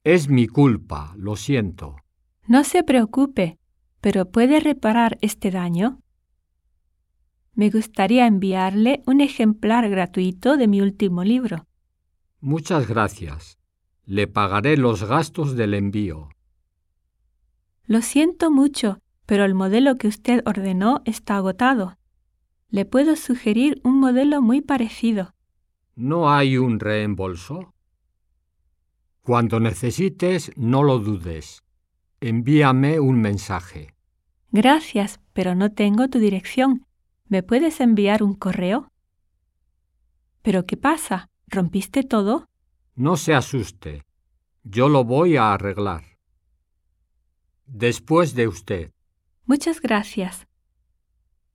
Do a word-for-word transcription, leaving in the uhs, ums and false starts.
Es mi culpa, lo siento. No se preocupe, pero ¿puede reparar este daño? Me gustaría enviarle un ejemplar gratuito de mi último libro. Muchas gracias. Le pagaré los gastos del envío. Lo siento mucho, pero el modelo que usted ordenó está agotado. Le puedo sugerir un modelo muy parecido. ¿No hay un reembolso? Cuando necesites, no lo dudes. Envíame un mensaje. Gracias, pero no tengo tu dirección. ¿Me puedes enviar un correo? ¿Pero qué pasa? ¿Rompiste todo? No se asuste. Yo lo voy a arreglar. Después de usted. Muchas gracias.